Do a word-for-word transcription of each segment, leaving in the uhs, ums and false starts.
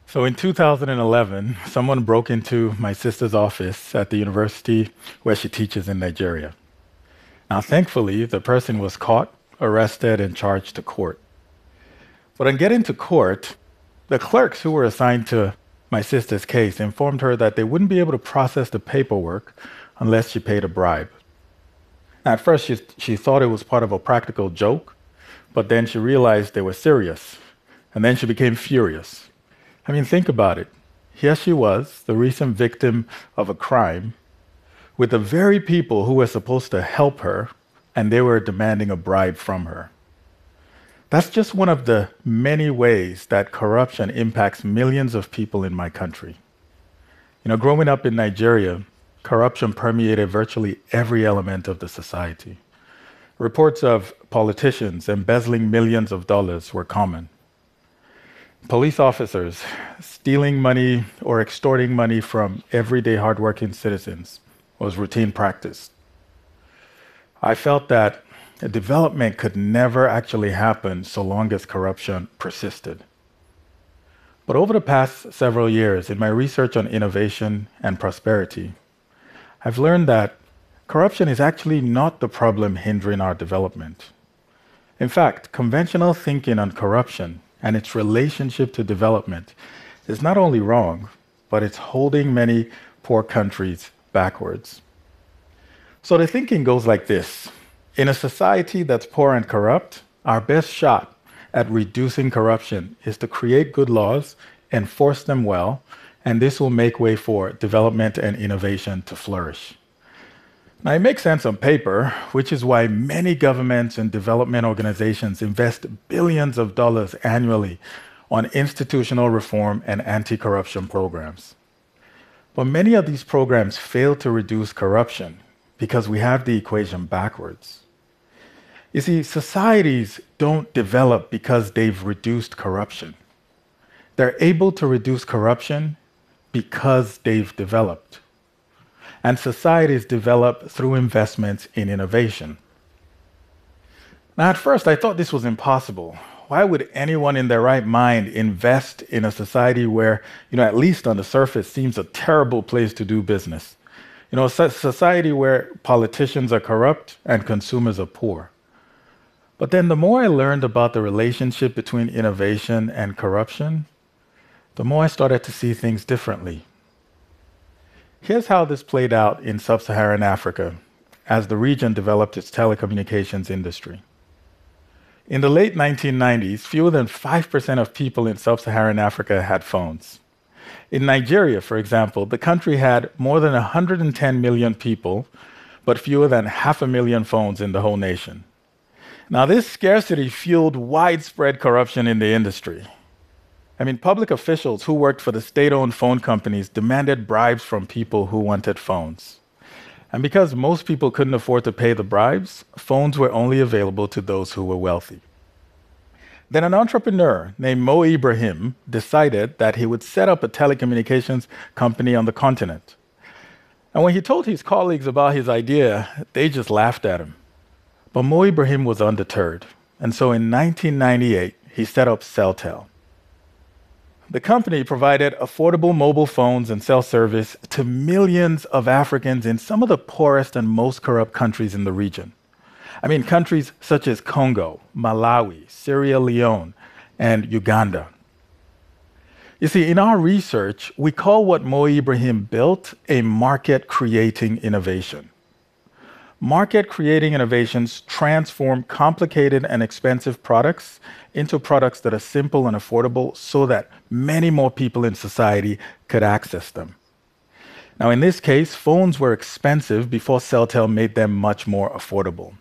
So in two thousand eleven, someone broke into my sister's office at the university where she teaches in Nigeria. Now, thankfully, the person was caught, arrested, and charged to court. But on getting to court, the clerks who were assigned to my sister's case informed her that they wouldn't be able to process the paperwork unless she paid a bribe. At first, she, she thought it was part of a practical joke, but then she realized they were serious, and then she became furious. I mean, think about it. Here she was, the recent victim of a crime, with the very people who were supposed to help her, and they were demanding a bribe from her. That's just one of the many ways that corruption impacts millions of people in my country. You know, growing up in Nigeria, corruption permeated virtually every element of the society. Reports of politicians embezzling millions of dollars were common. Police officers stealing money or extorting money from everyday hardworking citizens was routine practice. I felt that development could never actually happen so long as corruption persisted. But over the past several years, in my research on innovation and prosperity, I've learned that corruption is actually not the problem hindering our development. In fact, conventional thinking on corruption and its relationship to development is not only wrong, but it's holding many poor countries backwards. So the thinking goes like this. In a society that's poor and corrupt, our best shot at reducing corruption is to create good laws, enforce them well, and this will make way for development and innovation to flourish. Now, it makes sense on paper, which is why many governments and development organizations invest billions of dollars annually on institutional reform and anti-corruption programs. But many of these programs fail to reduce corruption because we have the equation backwards. You see, societies don't develop because they've reduced corruption. They're able to reduce corruption because they've developed. And societies develop through investments in innovation. Now, at first, I thought this was impossible. Why would anyone in their right mind invest in a society where, you know, at least on the surface, seems a terrible place to do business? You know, a society where politicians are corrupt and consumers are poor. But then the more I learned about the relationship between innovation and corruption, the more I started to see things differently. Here's how this played out in sub-Saharan Africa as the region developed its telecommunications industry. In the late nineteen nineties, fewer than five percent of people in sub-Saharan Africa had phones. In Nigeria, for example, the country had more than one hundred ten million people, but fewer than half a million phones in the whole nation. Now, this scarcity fueled widespread corruption in the industry. I mean, public officials who worked for the state-owned phone companies demanded bribes from people who wanted phones. And because most people couldn't afford to pay the bribes, phones were only available to those who were wealthy. Then an entrepreneur named Mo Ibrahim decided that he would set up a telecommunications company on the continent. And when he told his colleagues about his idea, they just laughed at him. But Mo Ibrahim was undeterred. And so in nineteen ninety-eight, he set up Celtel. The company provided affordable mobile phones and cell service to millions of Africans in some of the poorest and most corrupt countries in the region. I mean, countries such as Congo, Malawi, Sierra Leone, and Uganda. You see, in our research, we call what Mo Ibrahim built a market-creating innovation. Market-creating innovations transform complicated and expensive products into products that are simple and affordable so that many more people in society could access them. Now, in this case, phones were expensive before Celtel made them much more affordable.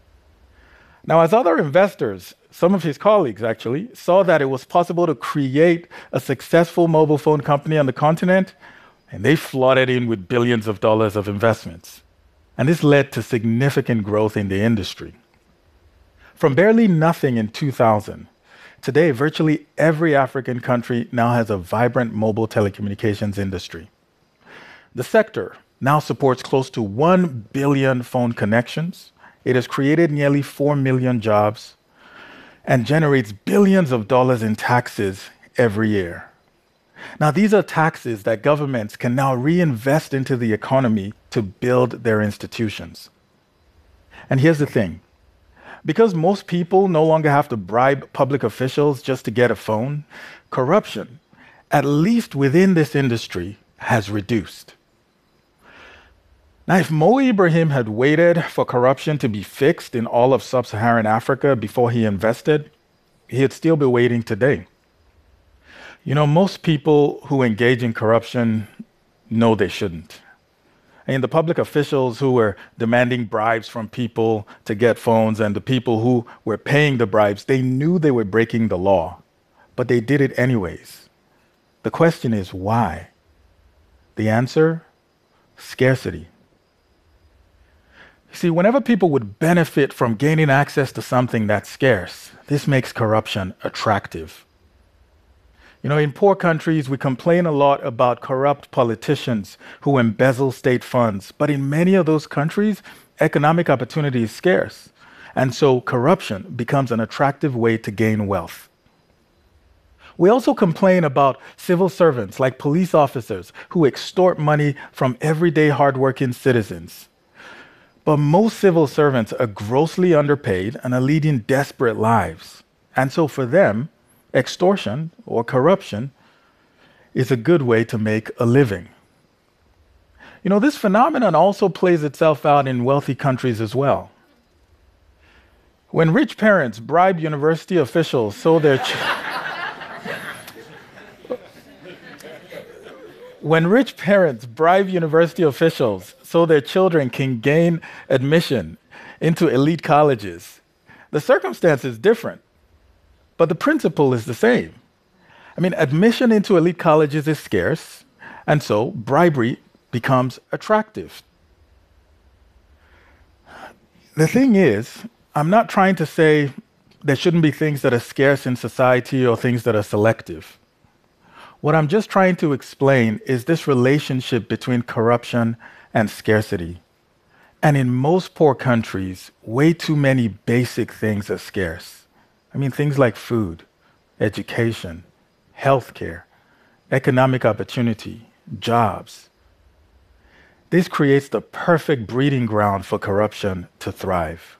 Now, as other investors, some of his colleagues actually, saw that it was possible to create a successful mobile phone company on the continent, and they flooded in with billions of dollars of investments. And this led to significant growth in the industry. From barely nothing in two thousand, today virtually every African country now has a vibrant mobile telecommunications industry. The sector now supports close to one billion phone connections. It has created nearly four million jobs and generates billions of dollars in taxes every year. Now, these are taxes that governments can now reinvest into the economy to build their institutions. And here's the thing. Because most people no longer have to bribe public officials just to get a phone, corruption, at least within this industry, has reduced. Now, if Mo Ibrahim had waited for corruption to be fixed in all of sub-Saharan Africa before he invested, he'd still be waiting today. You know, most people who engage in corruption know they shouldn't. And the public officials who were demanding bribes from people to get phones and the people who were paying the bribes, they knew they were breaking the law, but they did it anyways. The question is why? The answer? Scarcity. See, whenever people would benefit from gaining access to something that's scarce, this makes corruption attractive. You know, in poor countries, we complain a lot about corrupt politicians who embezzle state funds. But in many of those countries, economic opportunity is scarce. And so corruption becomes an attractive way to gain wealth. We also complain about civil servants like police officers who extort money from everyday hardworking citizens. But most civil servants are grossly underpaid and are leading desperate lives. And so for them, extortion or corruption is a good way to make a living. You know, this phenomenon also plays itself out in wealthy countries as well. When rich parents bribe university officials so their ch- When rich parents bribe university officials so their children can gain admission into elite colleges, the circumstance is different. But the principle is the same. I mean, admission into elite colleges is scarce, and so bribery becomes attractive. The thing is, I'm not trying to say there shouldn't be things that are scarce in society or things that are selective. What I'm just trying to explain is this relationship between corruption and scarcity. And in most poor countries, way too many basic things are scarce. I mean, things like food, education, healthcare, economic opportunity, jobs. This creates the perfect breeding ground for corruption to thrive.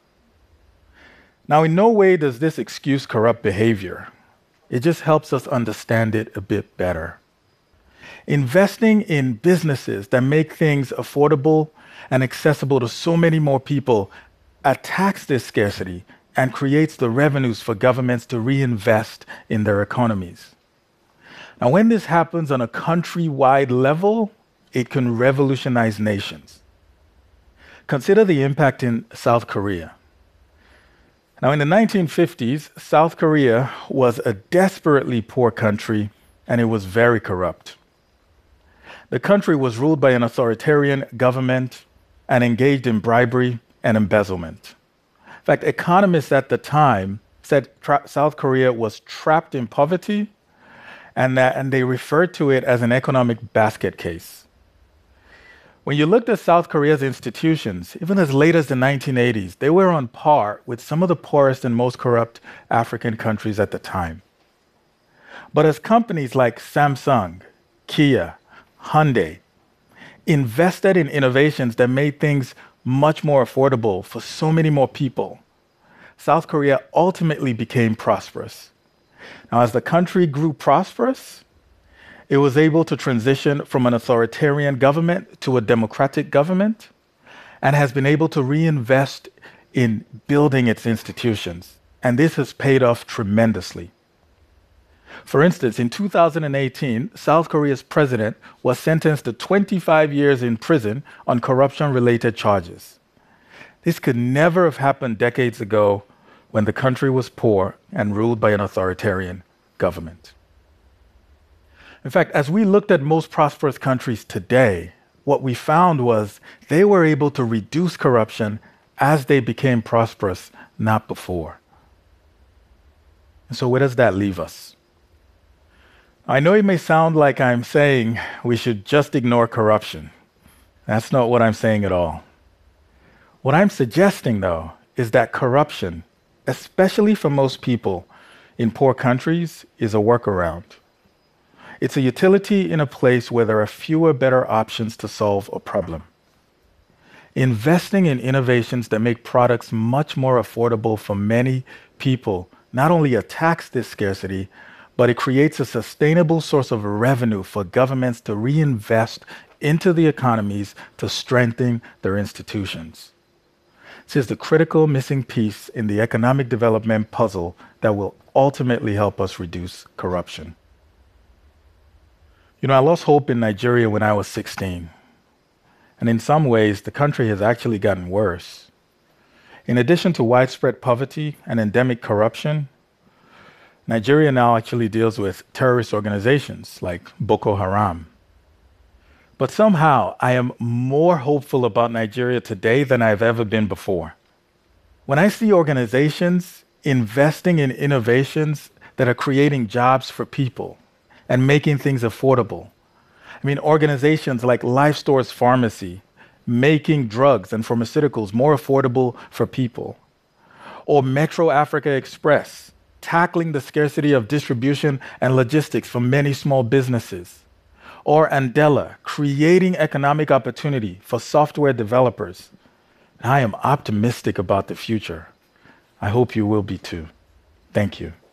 Now, in no way does this excuse corrupt behavior. It just helps us understand it a bit better. Investing in businesses that make things affordable and accessible to so many more people attacks this scarcity and creates the revenues for governments to reinvest in their economies. Now, when this happens on a country-wide level, it can revolutionize nations. Consider the impact in South Korea. Now, in the nineteen fifties, South Korea was a desperately poor country, and it was very corrupt. The country was ruled by an authoritarian government and engaged in bribery and embezzlement. In fact, economists at the time said tra- South Korea was trapped in poverty, and, that, and they referred to it as an economic basket case. When you looked at South Korea's institutions, even as late as the nineteen eighties, they were on par with some of the poorest and most corrupt African countries at the time. But as companies like Samsung, Kia, Hyundai invested in innovations that made things much more affordable for so many more people, South Korea ultimately became prosperous. Now, as the country grew prosperous, it was able to transition from an authoritarian government to a democratic government and has been able to reinvest in building its institutions. And this has paid off tremendously. For instance, in two thousand eighteen, South Korea's president was sentenced to twenty-five years in prison on corruption-related charges. This could never have happened decades ago when the country was poor and ruled by an authoritarian government. In fact, as we looked at most prosperous countries today, what we found was they were able to reduce corruption as they became prosperous, not before. And so where does that leave us? I know it may sound like I'm saying we should just ignore corruption. That's not what I'm saying at all. What I'm suggesting, though, is that corruption, especially for most people in poor countries, is a workaround. It's a utility in a place where there are fewer better options to solve a problem. Investing in innovations that make products much more affordable for many people not only attacks this scarcity, but it creates a sustainable source of revenue for governments to reinvest into the economies to strengthen their institutions. This is the critical missing piece in the economic development puzzle that will ultimately help us reduce corruption. You know, I lost hope in Nigeria when I was sixteen. And in some ways, the country has actually gotten worse. In addition to widespread poverty and endemic corruption, Nigeria now actually deals with terrorist organizations like Boko Haram. But somehow, I am more hopeful about Nigeria today than I've ever been before. When I see organizations investing in innovations that are creating jobs for people and making things affordable, I mean, organizations like Life Store's Pharmacy making drugs and pharmaceuticals more affordable for people, or Metro Africa Express tackling the scarcity of distribution and logistics for many small businesses, or Andela creating economic opportunity for software developers. I am optimistic about the future. I hope you will be too. Thank you.